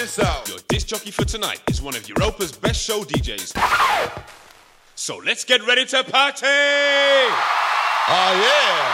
this out. Your disc jockey for tonight is one of Europa's best show DJs. So let's get ready to party! Oh, yeah.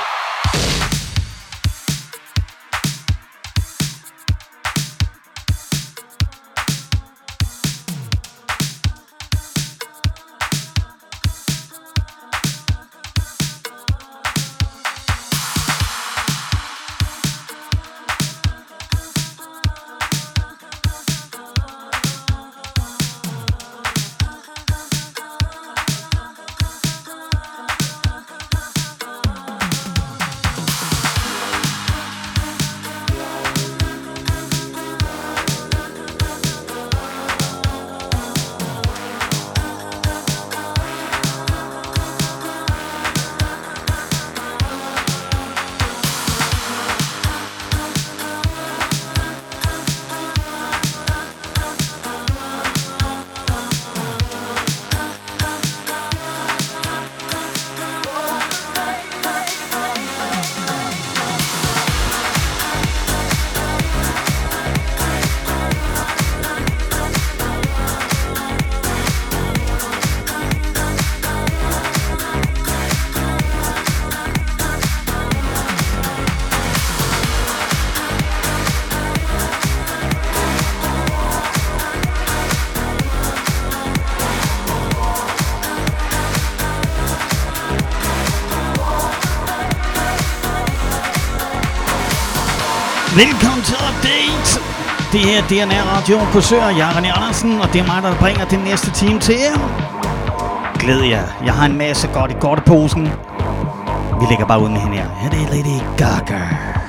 Velkommen til Update. Det her er DNR Radio på Søer. Jeg er René Andersen, og det er mig, der bringer den næste time til jer. Glæd jer. Jeg har en masse godt i godteposen. Vi lægger bare ud med hende her. Her det er Lady Gaga.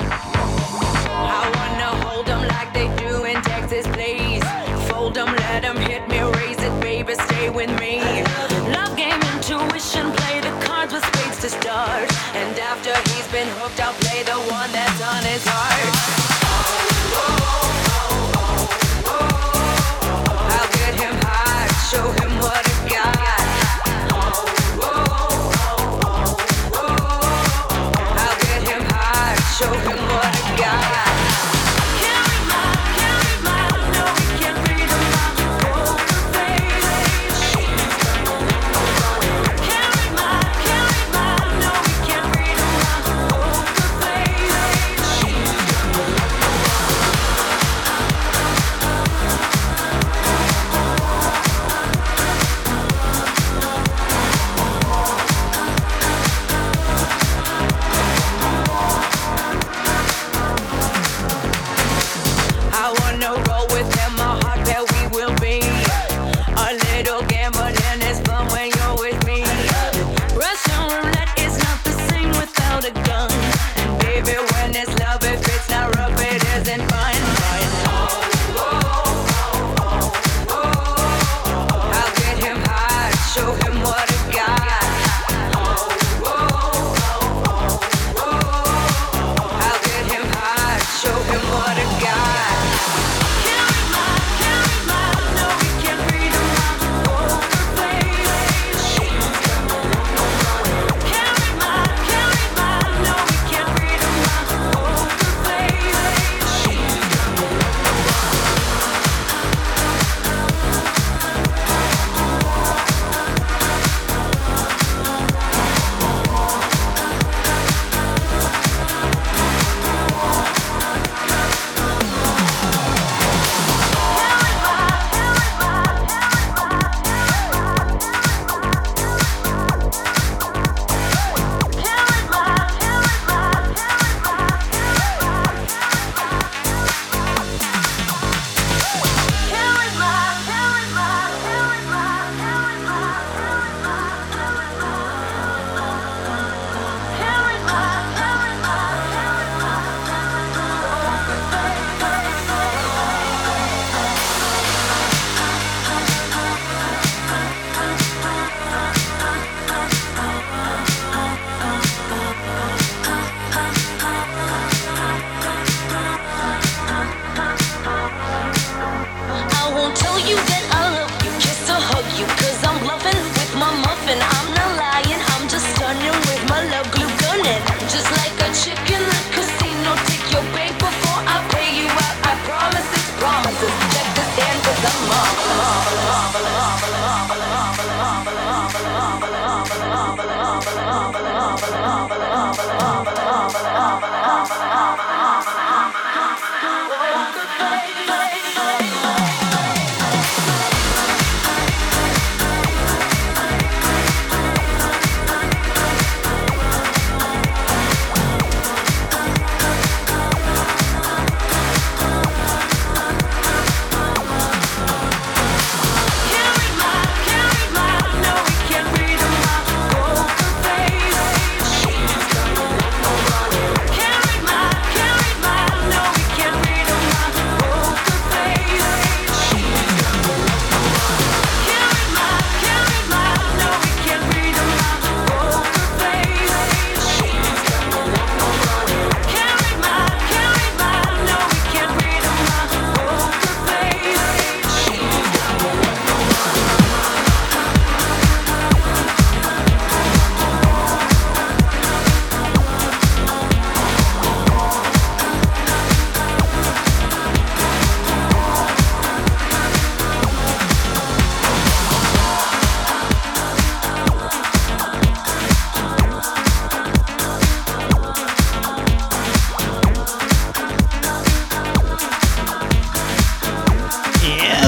Start. And after he's been hooked, I'll play the one that's on his heart. I'll get him high, show him what I got. I'll get him high, show him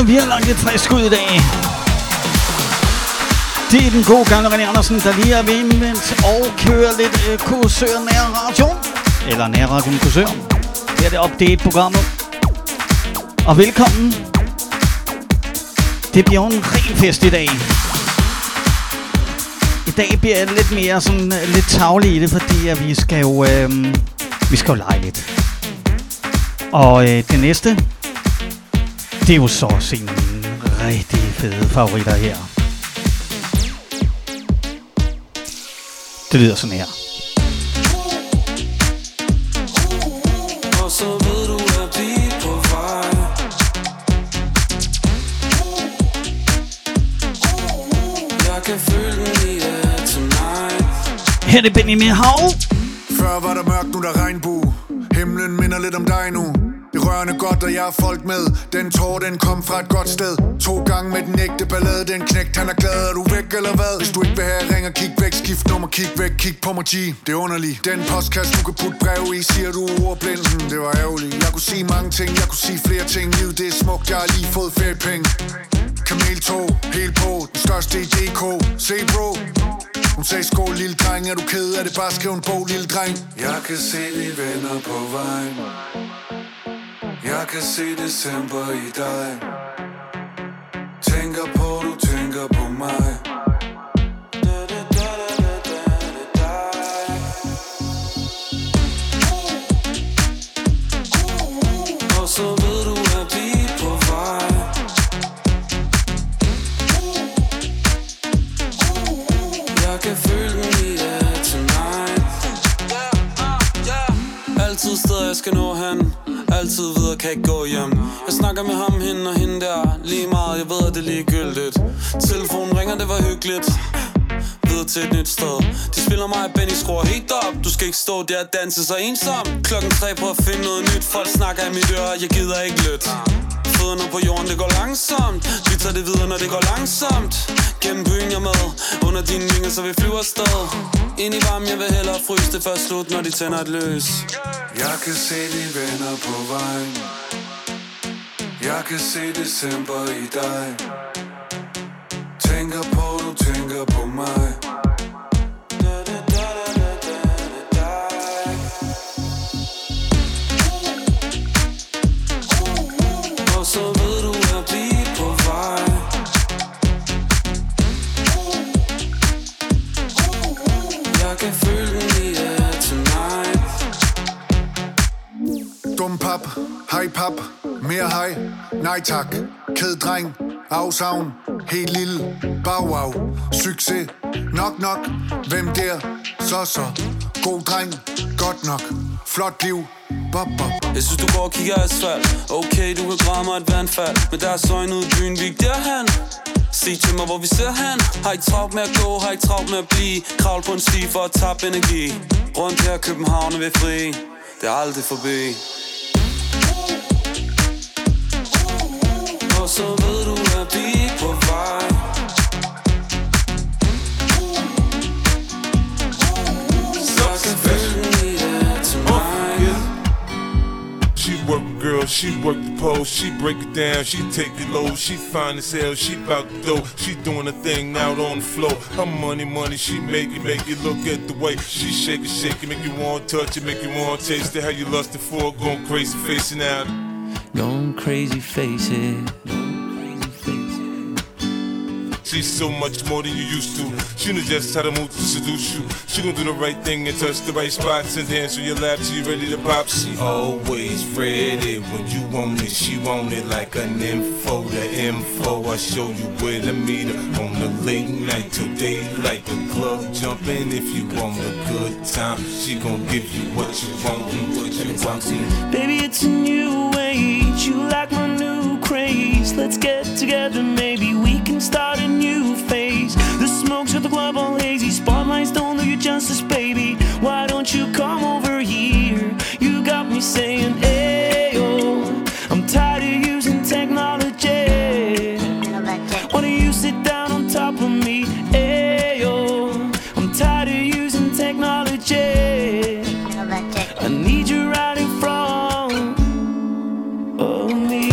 Vi har lagt lidt frisk ud i dag. Det er den gode gamle René Andersen, der lige er ved indvendt og kører lidt Korsør Nærradio. Eller Nærradio Korsør. Her er det update-programmet. Og velkommen. Det bliver en ren fest i dag. I dag bliver det lidt mere sådan lidt tavligt i det, fordi at vi skal jo lege lidt. Og det næste, det er jo så sine rigtig fede favoritter her. Det lyder sådan her. Og så ved du, at vi er på vej. Jeg kan føle den i tonight. Her er det Benjamin Hav. Før var der mørkt, nu der regnbue. Himlen minder lidt om dig nu. Det rørende godt, og jeg har folk med. Den tår, den kom fra et godt sted. 2 gange med den ægte ballade. Den knægt, han er glad. Er du væk eller hvad? Hvis du ikke vil have, ring og kig væk. Skift nummer, kig væk. Kig på mig, G. Det er underligt. Den postkasse, du kan putte brev i. Siger du ordblind? Det var ærgerligt. Jeg kunne sige mange ting. Jeg kunne sige flere ting. Livet, det er smukt. Jeg har lige fået feriepenge. Kameltog, helt på. Den største i DK. Se bro. Hun sagde skål, lille dreng. Er du ked af det? Bare skriv en bog, lille dreng. Jeg kan se de venner på vejen. Jeg kan se december i dig. Tænker på, du tænker på mig. Og så ved du, at vi er på vej. Jeg kan føle den i tonight. Altid steder jeg skal nå hen. Altid videre, kan ikke gå hjem. Jeg snakker med ham, hende og hende der. Lige meget, jeg ved, at det er ligegyldigt. Telefonen ringer, det var hyggeligt. Videre til et nyt sted. De spiller mig og Benny, skruer helt op. Du skal ikke stå der og danse så ensom. 3:00 på at finde noget nyt. Folk snakker i mit øre, jeg gider ikke lytte. Fødderne på jorden, det går langsomt. Vi tager det videre, når det går langsomt. Gennem byen jeg med. Under dine vinger, så vi flyver afsted. Ind i varmen, jeg vil hellere fryse det først slut, når de tænder et løs. Jeg kan se de venner på vejen. Jeg kan se december i dig. Tænker på, du tænker på mig. Og så ved du, at vi er på vej. Jeg kan føle den i tonight. Dum pap, hej pap, mere hej, nej tak. Ked dreng, afsavn, helt lille, bagwav. Succes, nok, hvem der, så. God dreng, godt nok, flot liv, bop. Jeg synes du går og kigger asfalt. Okay, du kan grave mig et vandfald. Men der er søjne ude i byen, vi ikke derhen. Sig til mig, hvor vi ser hen. Har ikke travlt med at gå, har ikke travlt med at blive. Kravl på en sti for at tabe energi. Rundt her København er vi fri. Det er aldrig forbi. Og så ved du, at vi er på vej. Så kan føle den i tonight. She work a girl, she work the pole, she break it down, she take it low, she fine as hell, she bout to go, she doing a thing out on the floor. Her money, she make it look at the way she shake it, make you want to touch it, make you want to taste it. How you lusted for, going crazy facing out. Going crazy, face it. She's so much more than you used to. She knows just how to move to seduce you. She gon' do the right thing and touch the right spots and dance on your lap till you ready to pop. She always ready when you want it. She want it like an info. The info, I show you where to meet her. On the late night till daylight, the club jumping. If you want a good time, she gon' give you what you want and what you want. Baby, it's a new age. You like my new craze. Let's get together, maybe we can start a new phase. The smoke's at the club all hazy. Spotlights don't do you justice, baby. Why don't you come over here? You got me saying, ayo. I'm tired of using technology. Why don't you sit down on top of me? Ayo. I'm tired of using technology. I need you right in front of me.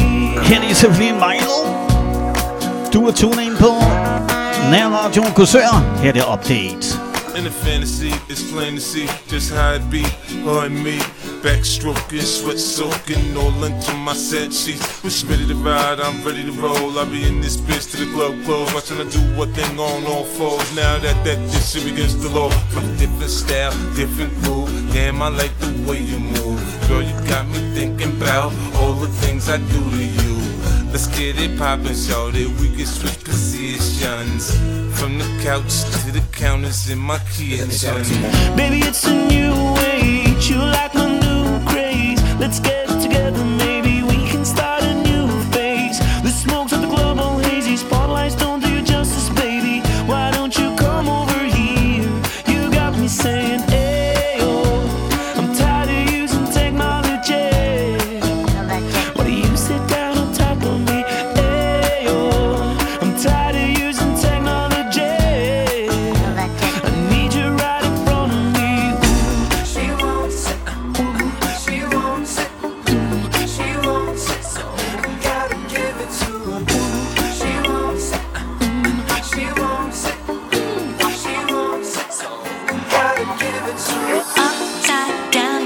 Her er selvfølgelig Milo. Du er tunet ind på Nærradio Korsør. Her er det update. In the fantasy, it's plain to see just how it be. Her and me, backstroking, sweat soaking, all into my set sheets. When she ready to ride, I'm ready to roll. I'll be in this bitch till the club close, watching her do what thing on all fours. Now that this shit against the law, from different style, different groove. Damn, I like the way you move. Girl, you got me thinking about all the things I do to you. Let's get it poppin', shawty. We can switch positions from the couch to the counters in my kitchen. Baby, it's a new age. You like my new craze. Let's get together, maybe we can start a new phase. The smokes of the club all hazy. Spotlights don't do you justice, baby. Why don't you come over here? You got me saying, ayo. I'm tired of using technology. Why do you sit down on top of me? Ayo. I'm tired of using technology. I need you right in front of me. She wants it. She wants it. She wants it. So gotta give it to her. She wants it. She wants it. She wants it. So gotta give it to her. Upside down,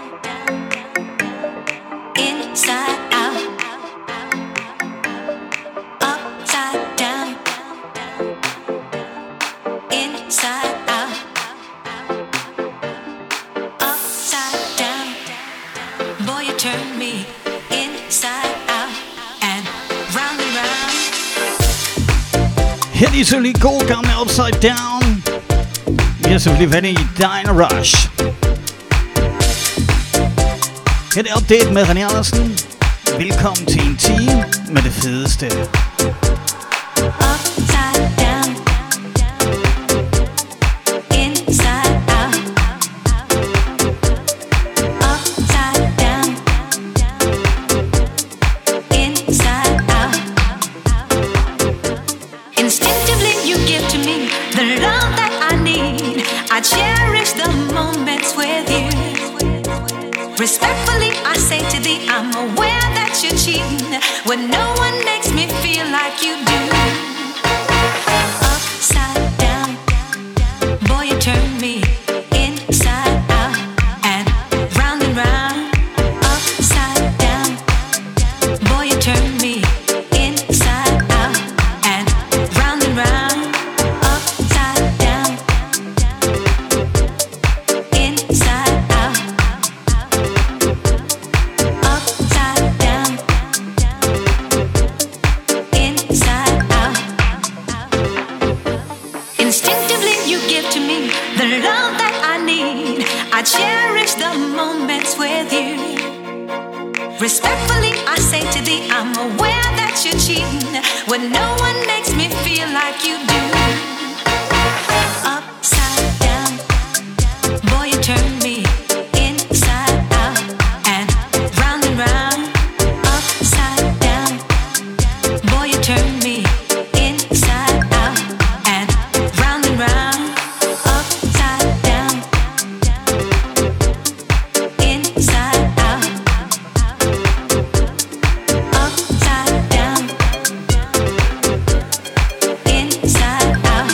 inside out. Upside down, inside out. Upside down, boy, you turn me inside out and round and round. Her er de selvfølgelig gode gamle Upside Down. Vi har selvfølgelig været i Diner Rush. Her er det update med René Andersen. Velkommen til en time med det fedeste. Upside down, inside out. Upside down, inside out. Instinctively you give to me the love that I need. I cherish the moments with you. Respectfully I say to thee, I'm aware that you're cheating when no one makes me feel like you do. Upside down, boy, you turn me inside out and round and round. Upside down, boy, you turn me inside out and round and round. Upside down, inside out. Upside down, inside out. Instinctively you give to me the love that I need. I cherish the moments with you. Respectfully I say to thee, I'm aware that you're cheating when no one makes me feel like you do. Upside down, boy, you turn me inside out and round and round. Upside down, boy, you turn me inside out and round and round. Upside down, inside out. Upside down, inside out.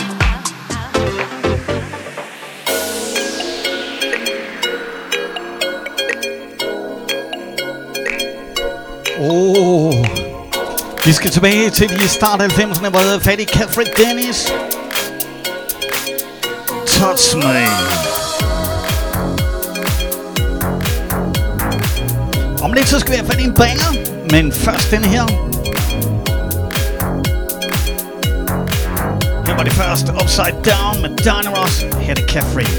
Vi skal tilbage til de start 90'erne, hvor jeg havde fat i Catherine Dennis. Touch Me. Om lidt så skal vi have fat i en banger, men først den her. Her var det først Upside Down med Diner Rush. Her er det Catherine.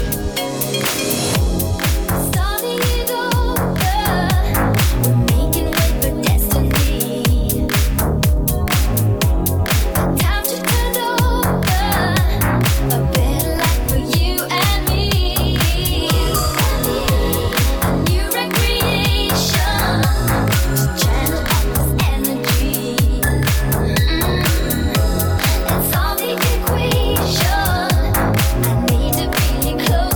It's all the equation. I need to be close.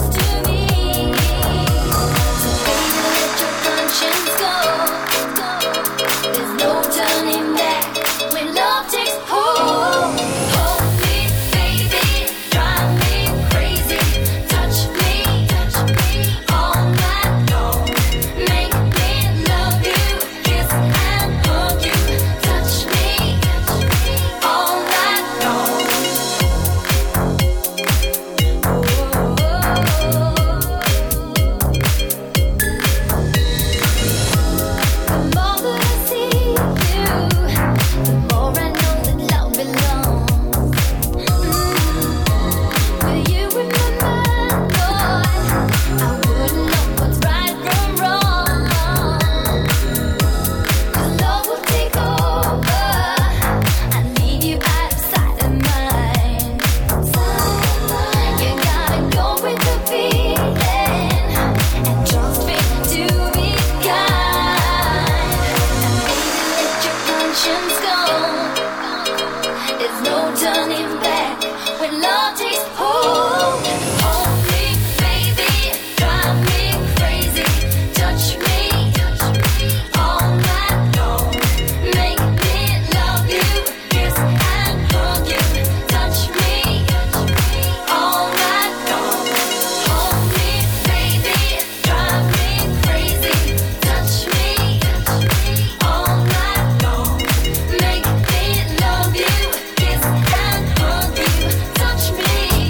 running back when love takes hold. Hold me, baby, drive me crazy, touch me all night long, make me love you, kiss and hug you, touch me all night long. Hold me, baby, drive me crazy, touch me all night long, make me love you, kiss and hug you, touch me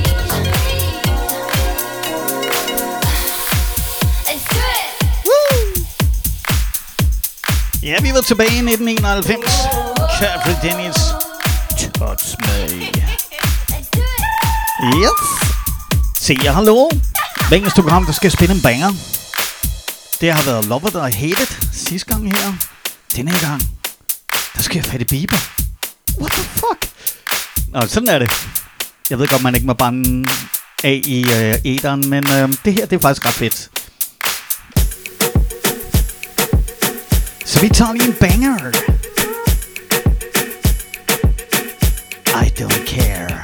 and do it. Ja, vi var tilbage i 1991. Catherine Dennis, Touch Me. Yes. Se, jeg har lovet. Hver eneste program, der skal spille en banger. Det har været Love It or Hate It sidste gang her. Denne her gang, der skal jeg fatte Bieber. What the fuck? Nå, sådan er det. Jeg ved godt, man ikke må bande af i æteren, men det her, det er faktisk ret fedt. Så vi tager lige en banger. I don't care.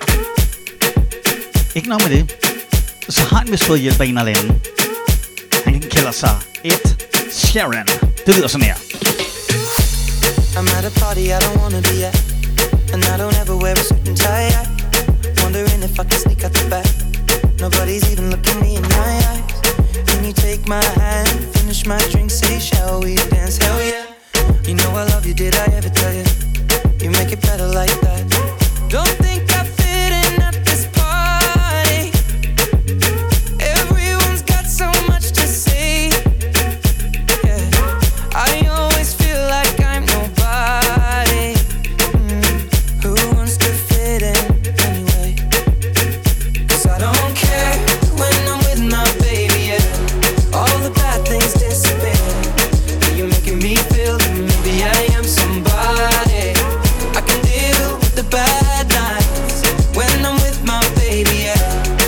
Ikke noget med det. Så har han vist fået hjælp af en eller anden. Han kalder sig Ed Sheeran. Det lyder sådan her. I'm at a party I don't wanna be at, and I don't ever wear a suit and tie. Wondering if I can sneak out the back. Nobody's even looking me in my eyes. Can you take my hand, finish my drink, say shall we dance? Hell yeah. You know I love you, did I ever tell you? You make it better like that. Don't think I fit in at this party. Everyone's got so much to say. Yeah, I always feel like I'm nobody. Who wants to fit in anyway? 'Cause I don't care when I'm with my baby, yeah. All the bad things disappear. You're making me feel that maybe I am somebody. I can deal with the bad nights when I'm with my baby, yeah.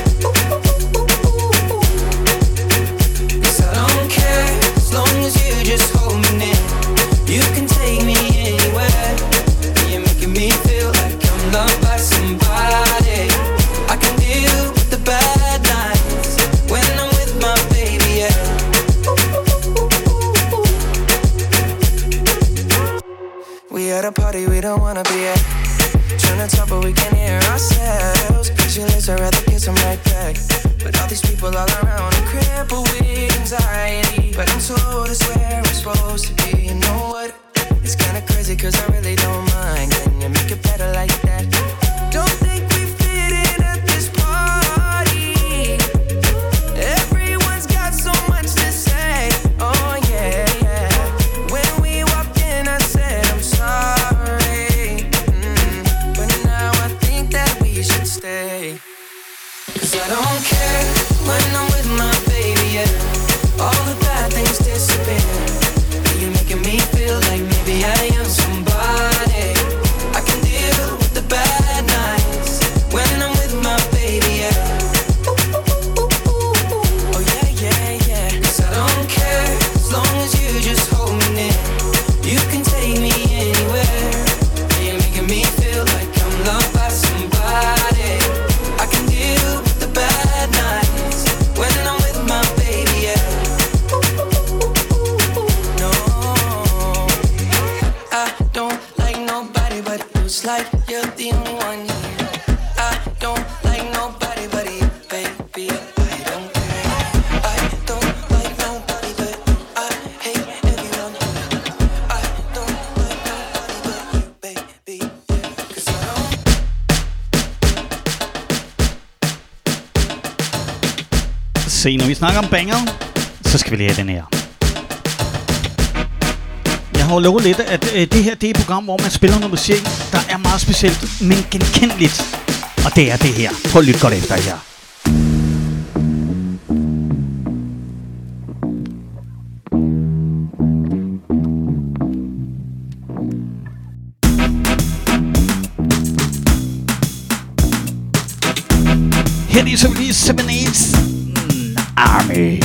'Cause I don't care as long as you just hold me near. You can take me anywhere. You're making me feel like I'm loved by somebody. I can deal with the bad nights when I'm with my baby, yeah. We at a party we don't wanna be at. Trying to talk but we can't hear ourselves. Pictureless, I'd rather kiss them right back. But all these people all around are crippled with anxiety. But I'm told it's where I'm supposed to be. You know what? It's kinda crazy 'cause I really don't mind. Can you make it better like that? Don't think we fit in at this party. Everyone's got so much to say. Oh yeah, yeah. When we walked in I said I'm sorry. But now I think that we should stay. 'Cause I don't care when I'm with my baby, yeah. All the bad things disappear. You're making me feel like maybe I am somebody. I can deal with the bad nights when I'm with my baby, yeah. Oh yeah, yeah, yeah. 'Cause I don't care as long as you just hold me near. You can take me anywhere. You're making me feel like I'm loved by somebody. I can deal with the bad nights when I'm with my baby, yeah. No, I don't like nobody but it feels like you're the only one here. I don't like nobody but you, baby. I don't care. I don't like nobody but I hate everyone. I don't like nobody but you, baby. 'Cause I don't. Se, når vi snakker om banger, så skal vi lige have den her. Jeg har jo lovet lidt, at det her det er et program, hvor man spiller noget musik, der er meget specielt, men genkendeligt. Og det er det her. Prøv at lytte godt efter her. Her er så lige 7/8 Army.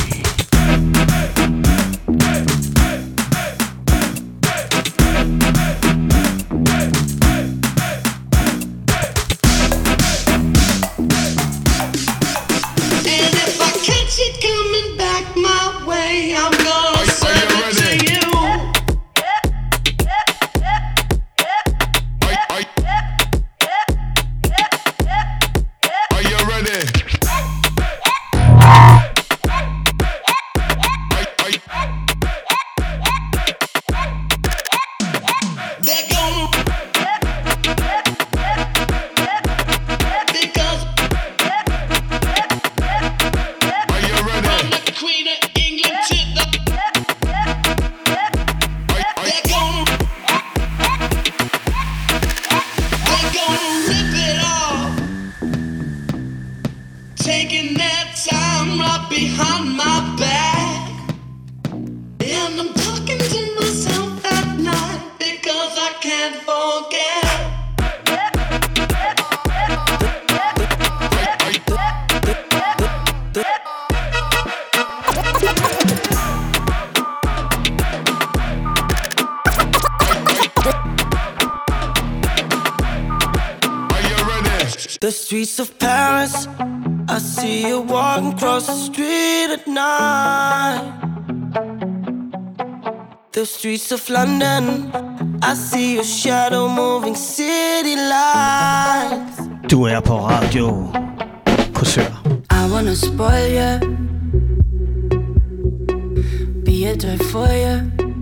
The streets of Paris, I see you walking across the street at night. The streets of London, I see your shadow moving city lights. Du er på Radio Korsør. I wanna spoil you, be a toy for you,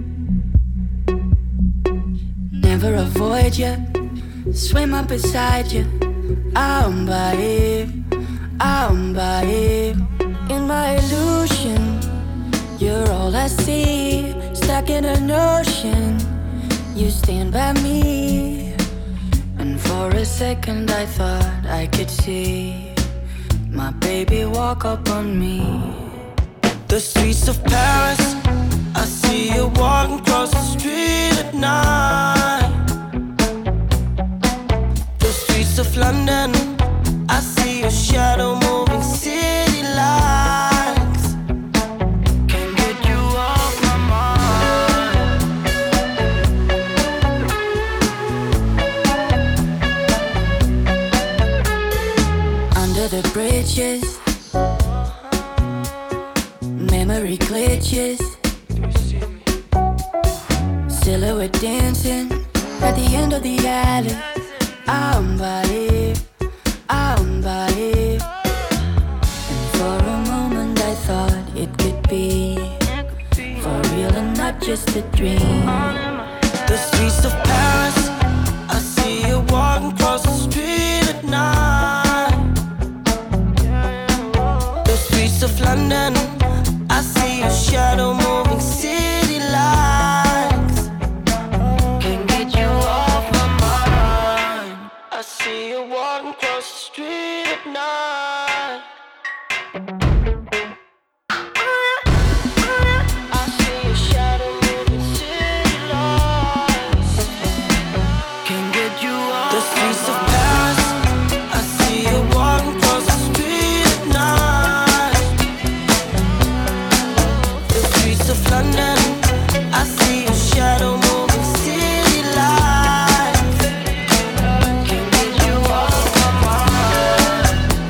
never avoid you, swim up beside you. I'm by in my illusion. You're all I see, stuck in an ocean. You stand by me, and for a second I thought I could see my baby walk up on me. The streets of Paris, I see you walking across the street at night. The streets of London, I see your shadow moving city lights. Can't get you off my mind. Under the bridges, memory glitches, silhouette dancing at the end of the alley. I'm by it. And for a moment I thought it could be for real and not just a dream. The streets of Paris, I see you walking across the street at night. The streets of London, I see your shadow moving city lights. Can't get you off my mind. I see you walking across the street at night. I see your shadow moving city lights. Can't get you off the streets of Paris. I see you walking across the street at night. The streets of London, I see your shadow moving city lights. Can't get you off my mind.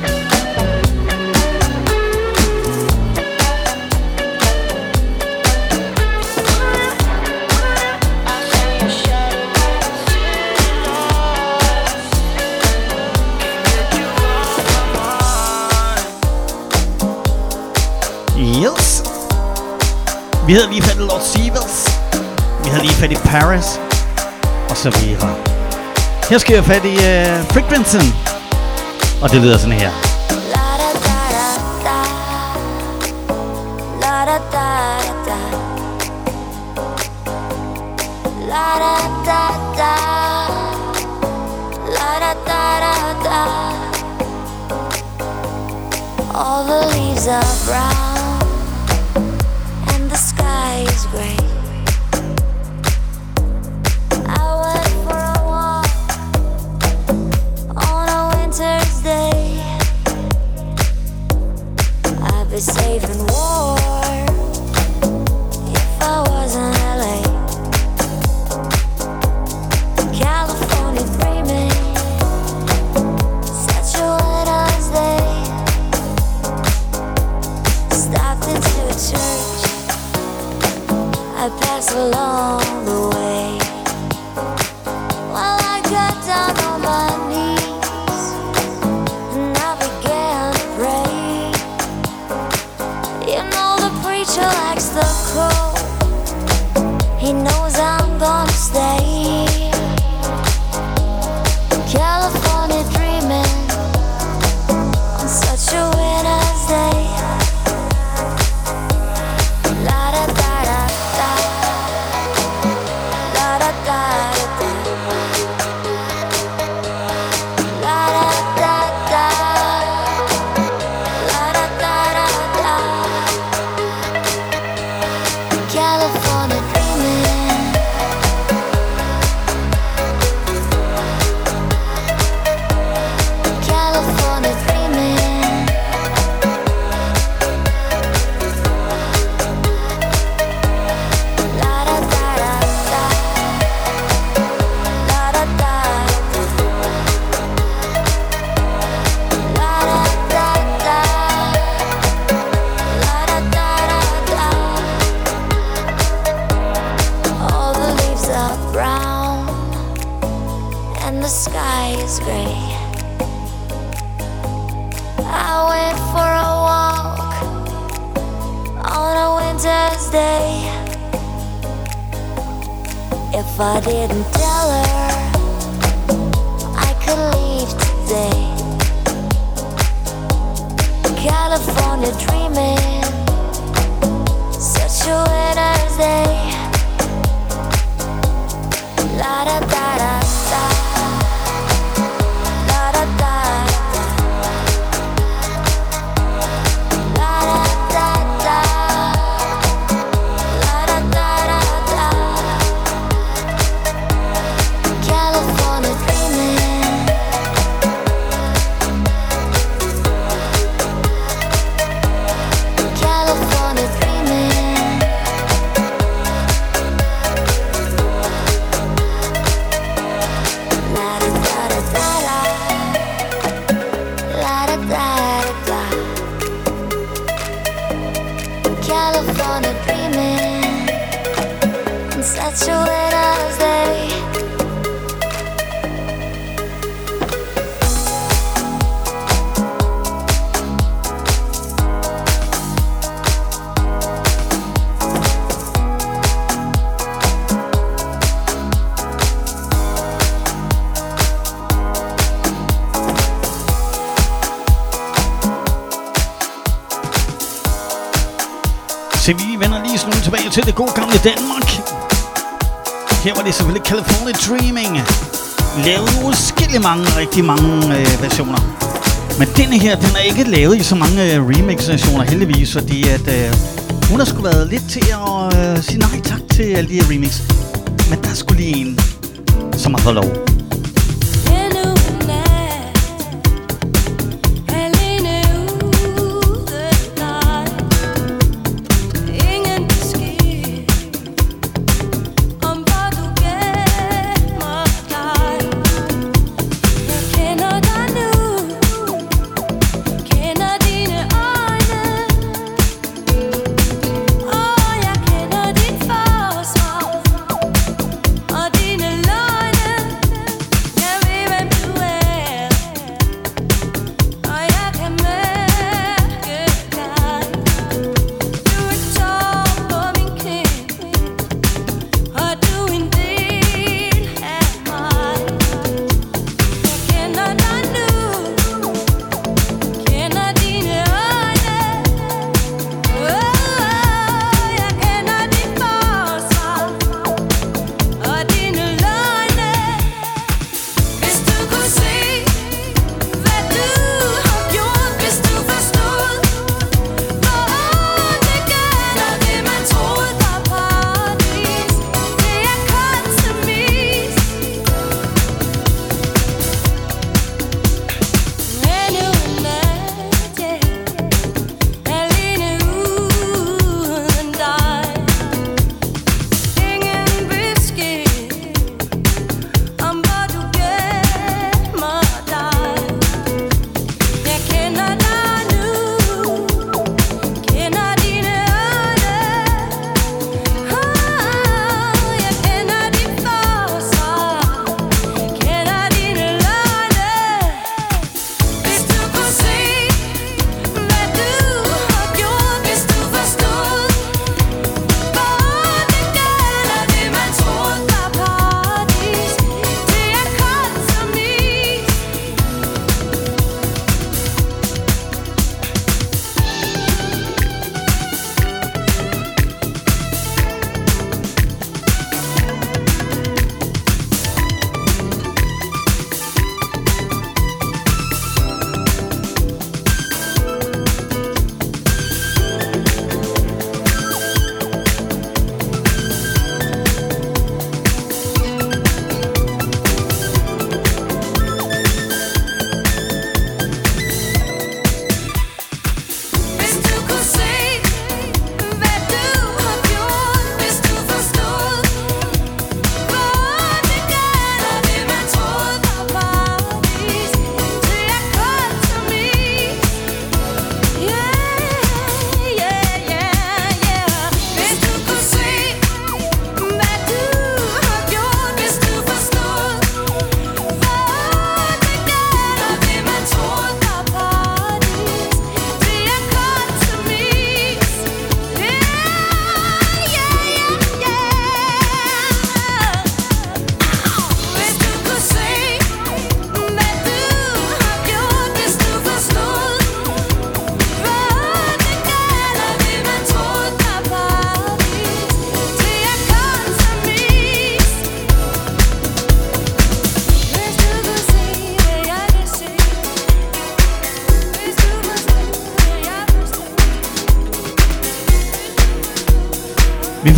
I see your shadow moving city lights. Can't get you off my mind. Yes. Vi havde lige fat i Lord Sivers. Vi havde lige fat i Paris. Og så videre. Her skal jeg fat i Frequency. Og det lyder sådan her. All the leaves are brown and the sky is gray. I went for a walk on a winter's day. I'd be safe and warm if I was in LA. California dreaming, such a winter's day. Stopped into a church, I passed along the way. While I got down on my knees and I began to pray. You know the preacher likes the cold, he knows I'm gonna stay. California dreaming on such a winter's day. La da da da da, la da da da, la da da da, la da da da. California dreaming. sky is gray. I went for a walk on a winter's day. If I didn't tell her I could leave today. California dreaming, such a winter's day. La da da da da, la da da da, la da da da, la da da da. California dreaming. California dreaming. La da da da da, la da da da. California dreaming, on such a winter's day. Så vi vender lige sådan tilbage til det gode gamle Danmark. Her var det selvfølgelig California Dreaming. Lavet uskillig mange, rigtig mange versioner. Men denne her, den er ikke lavet i så mange remix-versioner heldigvis, fordi at hun har sgu været lidt til at sige nej tak til alle de her remix. Men der er sgu lige en, som har fået lov. Og dine løgne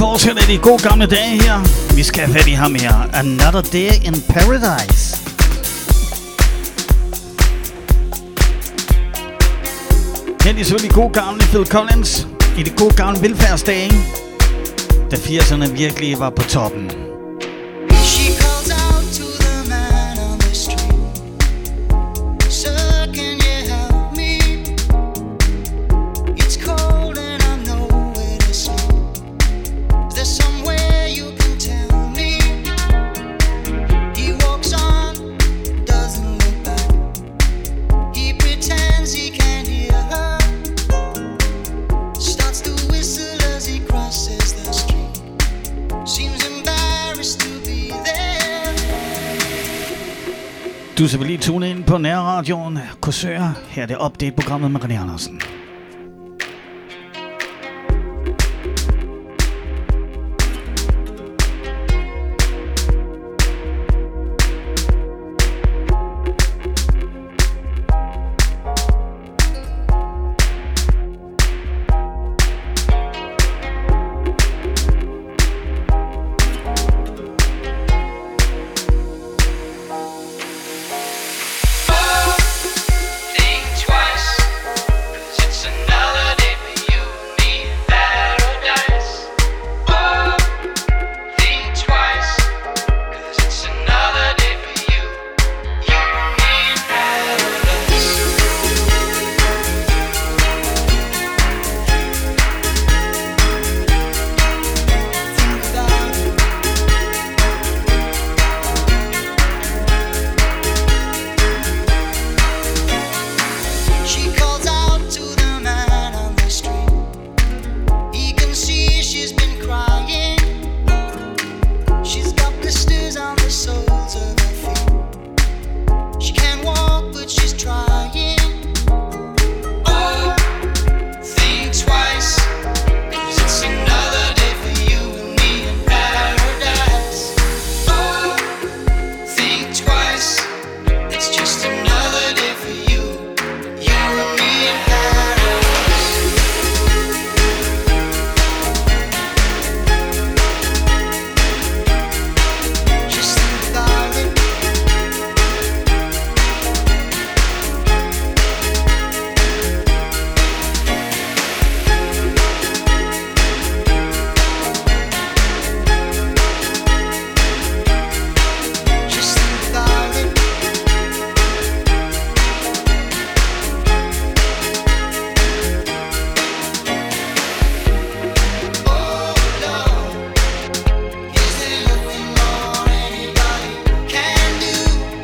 fortsætter de gode gamle dage her. Vi skal have fat i ham her. Another Day in Paradise. Her er selvfølgelig gode gamle Phil Collins i de gode gamle velfærdsdage, da 80'erne virkelig var på toppen. She calls out to the man on the street. Sir, can you help me? It's cold and I'm nowhere to sleep. Is there somewhere you can tell me? He walks on, doesn't look back. He pretends he can't hear her. Starts to whistle as he crosses the street. Seems embarrassed to be there. Du skal lige tune ind på nærradioen Korsør. Her er det update-programmet med René Andersen. Think twice, 'cause it's another day for you and me in paradise. Oh, think twice, 'cause it's another day for you and me in paradise. Think about it. She calls out to the man on the street. He can see she's been crying. She's got blisters on the soles of her feet. She can't walk, but she's trying. Oh, think twice, 'cause it's another day for you and me in paradise. Oh, think twice, it's just another day for you. You and me in paradise. Just think about it. Just think about it. Oh Lord, is there nothing more anybody can do?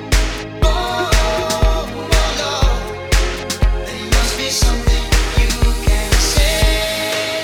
Oh Lord, there must be something you can say.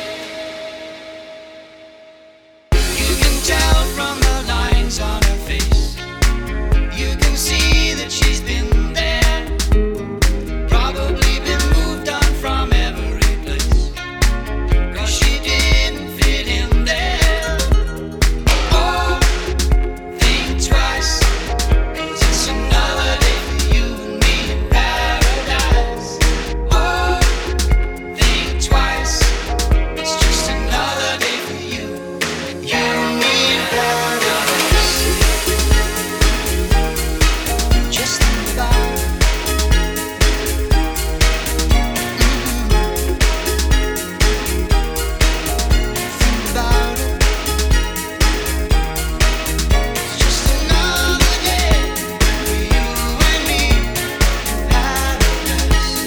You can tell from the lines on her face. You can see that she's been there. Probably been moved on from every place. 'Cause she didn't fit in there. Oh, think twice, 'cause it's another day for you and me in paradise. Oh, think twice, it's just another day for you and me in paradise. Just think about it. Think about it. It's just another day for you and me in paradise.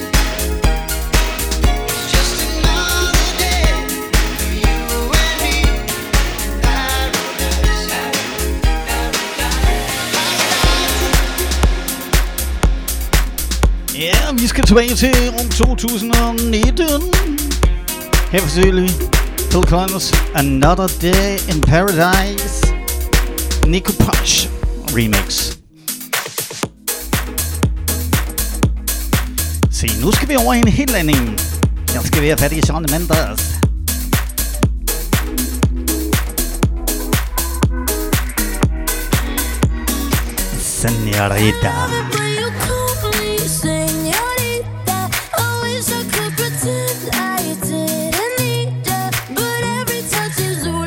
It's just another day for you and me in paradise. Ja, vi skal tilbage til rum 2019. Her for selvfølgelig Phil Collins, Another Day in Paradise. Nico Posh remix. Se, nu skal vi over i en helt anden. Her skal vi have fat i Shawn Mendes. Señorita. When you call me señorita, I wish I could pretend I didn't need ya, but every touch is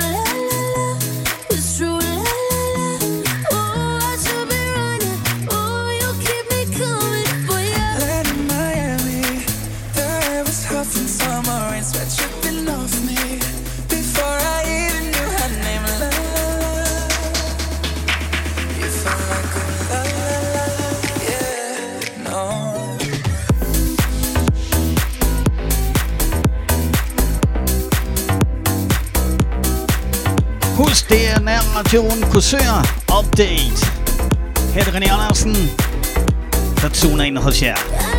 er nærradioen Korsør Update. Her er det René Andersen, der tuner ind hos jer.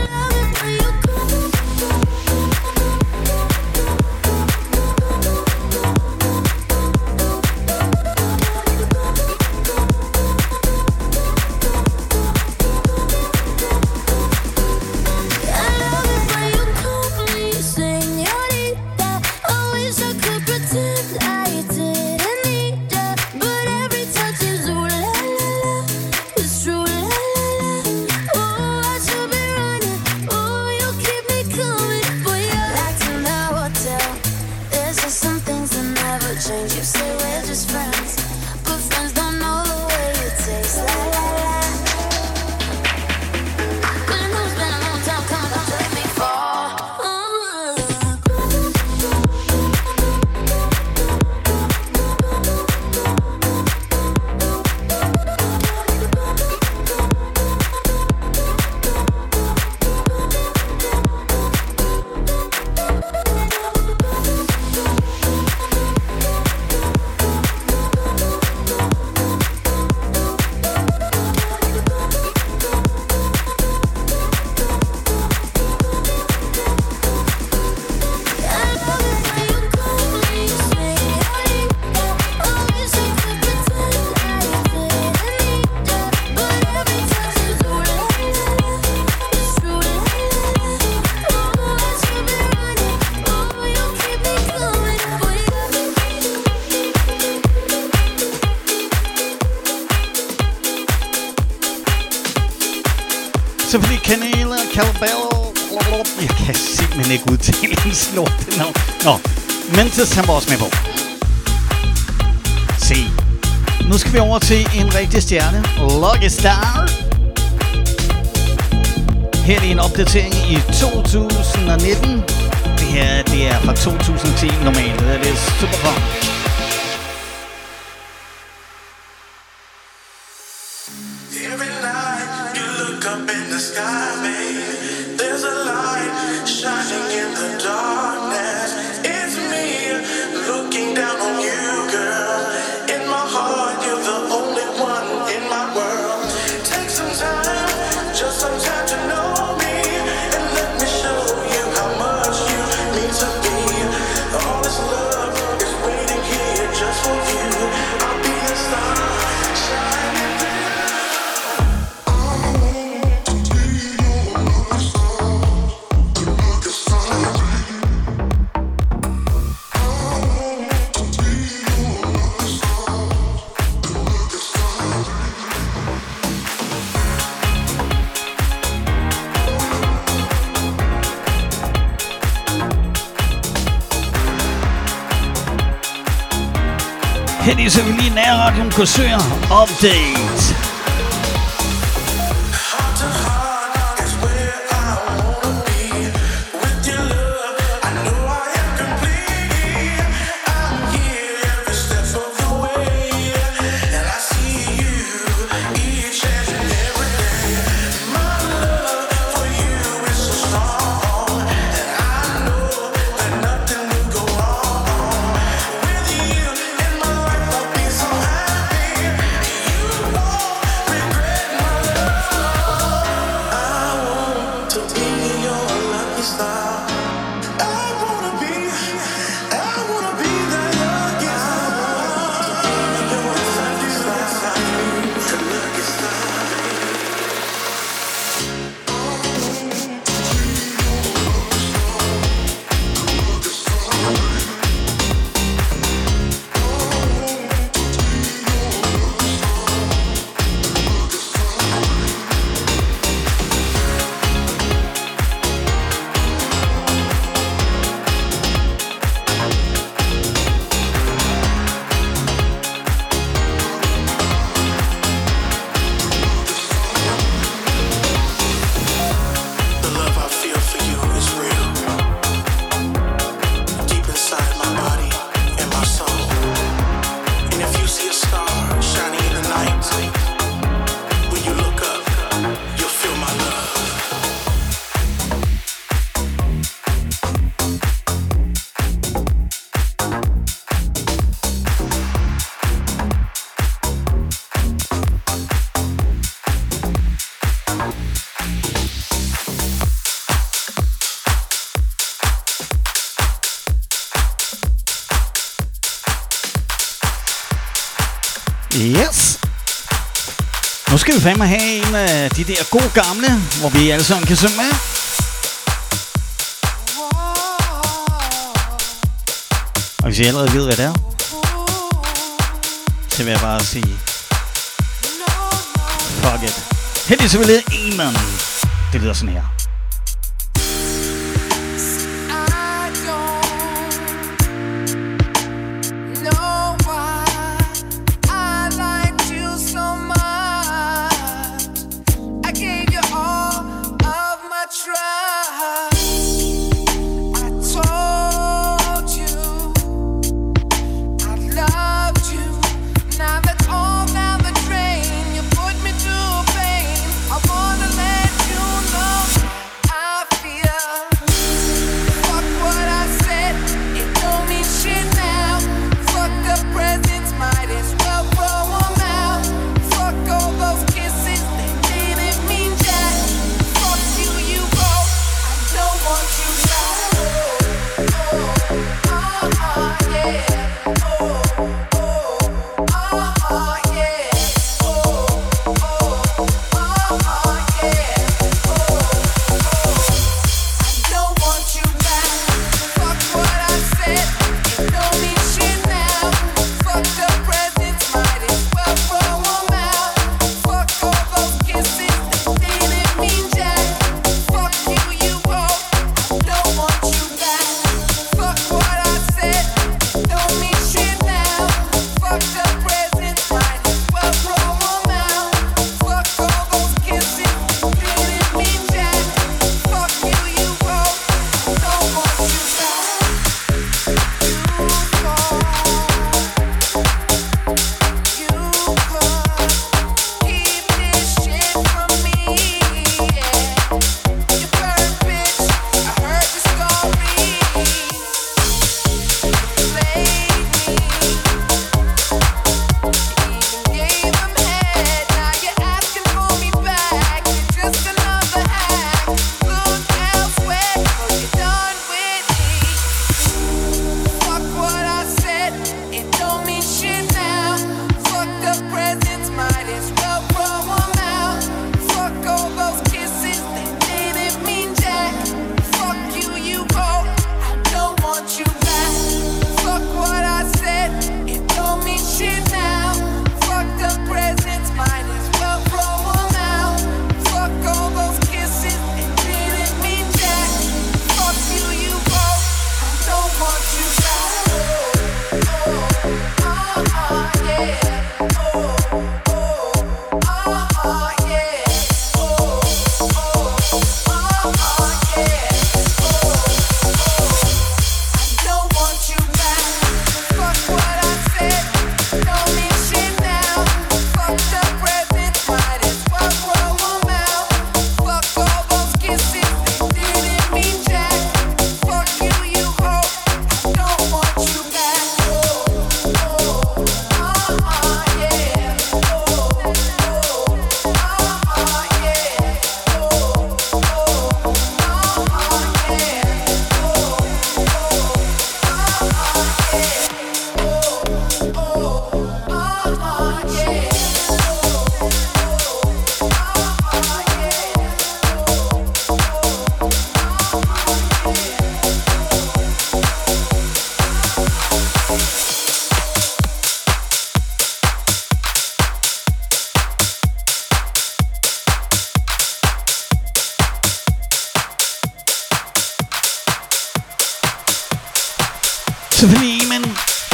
Selvfølgelig Canela, Calabello. Jeg kan simpelthen ikke udtale en slort navn. Nå, Mentis han var også med på. Se, nu skal vi over til en rigtig stjerne. Lucky Star. Her er en opdatering i 2019. Det her, det er fra 2010 normalt. Det er super fun. Her er selvfølgelig nærradioen Korsør Update. Whoa. Yes. Nu skal vi fandme have en af de der gode gamle, hvor vi alle sammen kan synge med. Og hvis I allerede ved, hvad det er, så vil jeg bare sige, fuck it. Heldigvis så vil jeg lede en mand. Det lyder sådan her. Selvfølgelig, men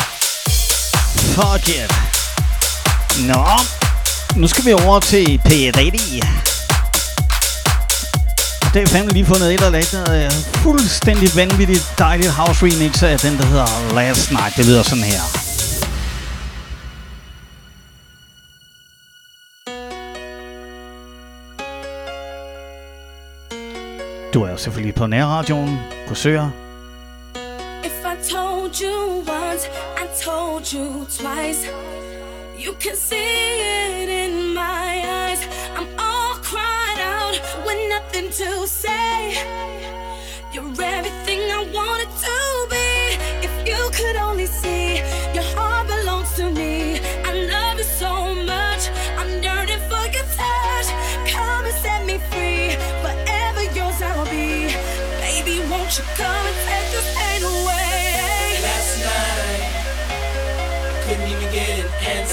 fuck it. Nå, nu skal vi over til P80. Det er fandme lige fundet et eller andet fuldstændig vanvittigt dejligt house remix af den, der hedder Last Night. Det lyder sådan her. Du er selvfølgelig på nærradioen, Korsør. If I told you once, I told you twice. You can see it in my eyes. I'm all cried out with nothing to say. You're everything I wanted to be. If you could only see, your heart belongs to me. I love you so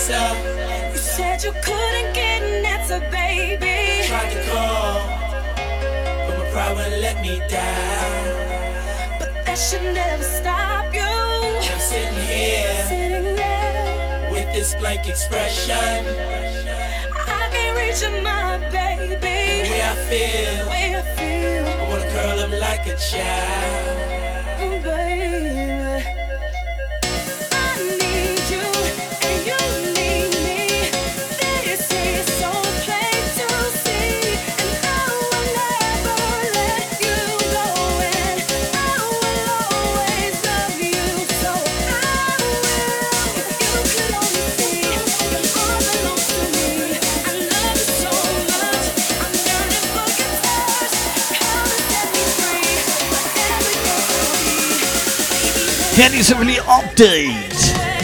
answer. You said you couldn't get an answer, baby. Tried to call, but my pride wouldn't let me down. But that should never stop you. I'm sitting here, with this blank expression. I can't reach your mind, baby. The way I feel, I wanna curl up like a child. Baby, I need you and you need me. This is so plain to see, and I will never let you go. And I will always love you, so I will. If you could only see, your heart belongs to me. I love you so much, I'm yearning for your touch. Come and set me free, whatever you're gonna be. Her er de selvfølgelig update.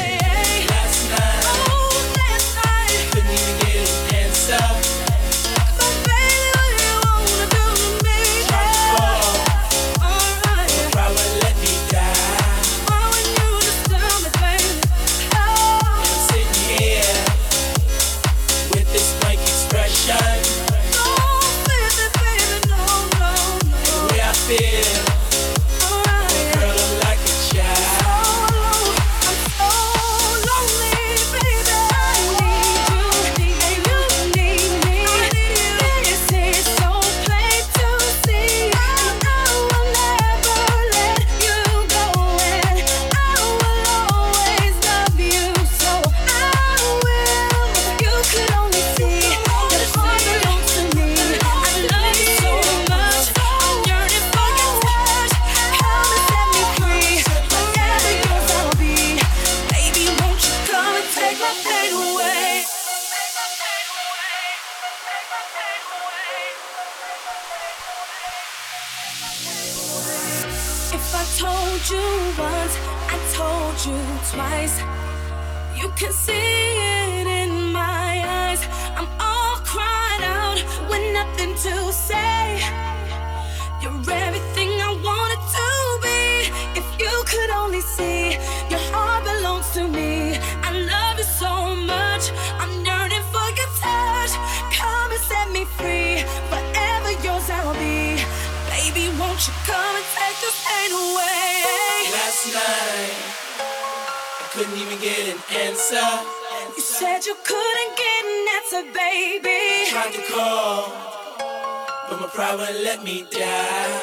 If I told you once, I told you twice. You can see it in my eyes. I'm all cried out with nothing to say. You're everything I wanted to be. If you could only see, your heart belongs to me. I love you so much, I'm yearning for your touch. Come and set me free, forever yours I'll be. Baby, won't you come and take this pain away? Last night, I couldn't even get an answer. You said you couldn't get an answer, baby. Tried to call, but my pride wouldn't let me down.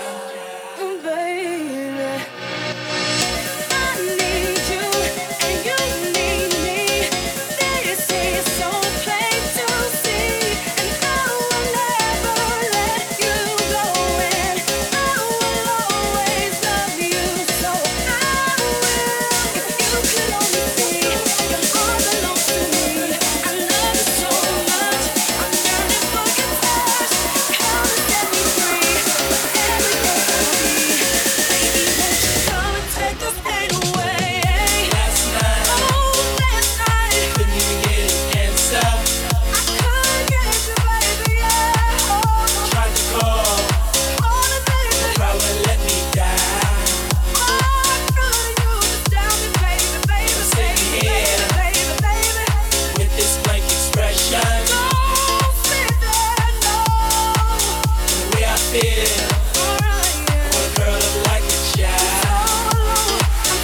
Baby, I need you and you need me. This is so plain to see, and I will never let you go. And I will always love you, so I will. If you could only see, your heart belongs to me. I love you so much, I'm yearning for your touch. Come and set me free, whatever you're gonna be. Baby, won't you come and take this pain away? Last night, couldn't even get an answer. Couldn't get you, baby, yeah. Tried to call, Wanna my baby, pride wouldn't let me down. With this blank expression, the way I feel, I wanna curl up like a child.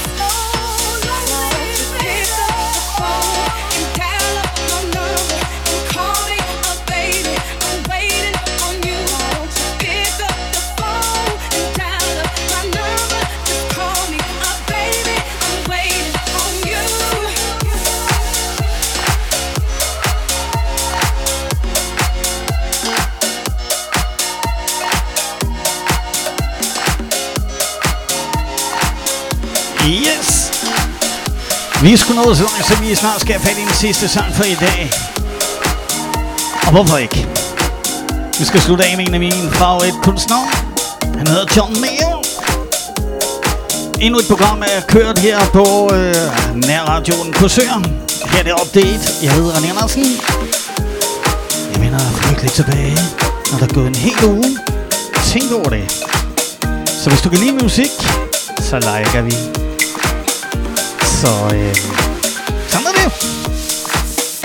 Yes! Vi er sgu nået så langt, så vi snart skal have fat i den sidste sang for i dag. Og hvorfor ikke? Vi skal slutte af med en af mine favoritkunstnere. Han hedder John Mayer. Endnu et program er kørt her på nærradioen Korsør. Her er det update. Jeg hedder René Andersen. Jeg vender frygteligt tilbage, når der er gået en hel uge. Tænk over det. Så hvis du kan lide musik, så liker vi. Så sådan er det.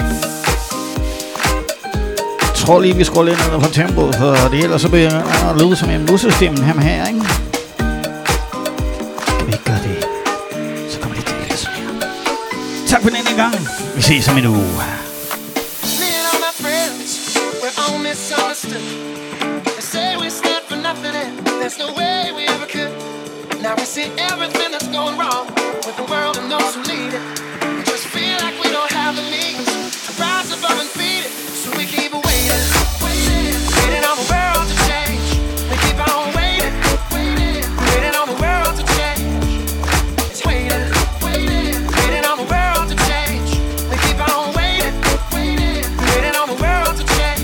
tror lige, vi skruer lidt ned på tempoet, for det ellers så bliver det at lyde som en musestemme her, ikke? Skal vi ikke gøre det? Så kommer det til at sådan her. Tak for denne gang. Vi ses om en uge. Me and all my friends, we're all misunderstood. They say we stand for nothing and there's no way we ever could. Now we see everything that's going wrong with the world and those who lead it. We just feel like we don't have the means to rise above and beat it. So we keep waiting, waiting on the world to change. We keep on waiting, waiting on the world to change. It's waiting, waiting on the world to change. We keep on waiting, waiting on the world to change.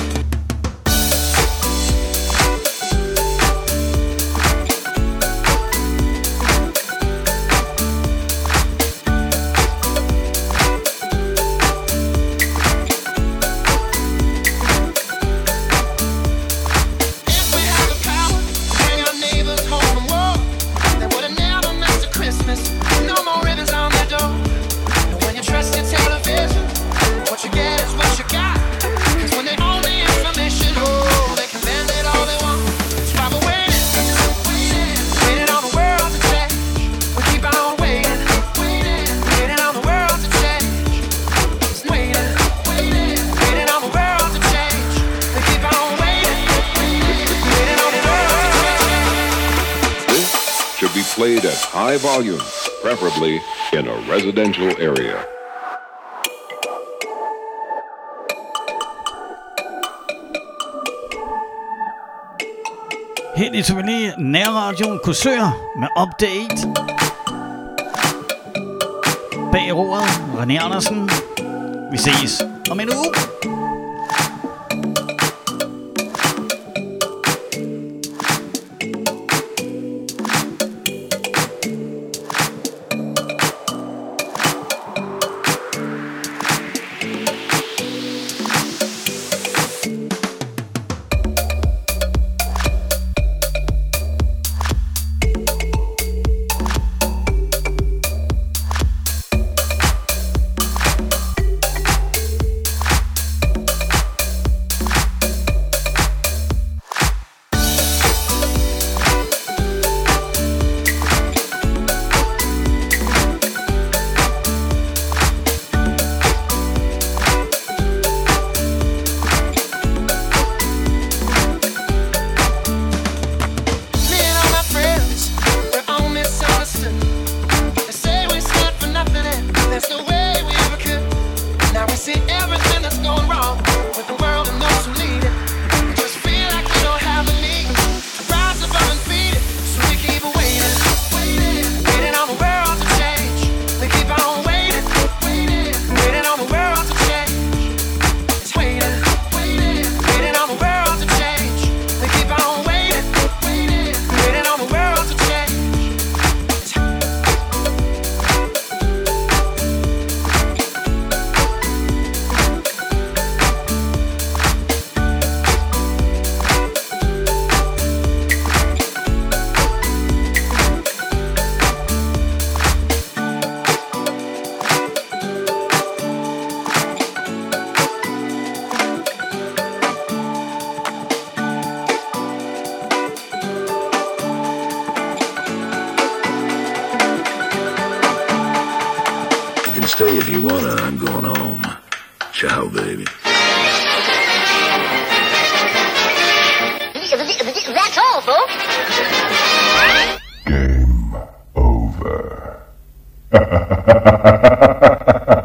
Played at high volume, preferably in a residential area. Helt i Tivoli, Nærradioen Korsør med update. Bag roret, René Andersen. Vi ses om en uge. Stay if you wanna, I'm going home. Ciao, baby. That's all, folks. Game over.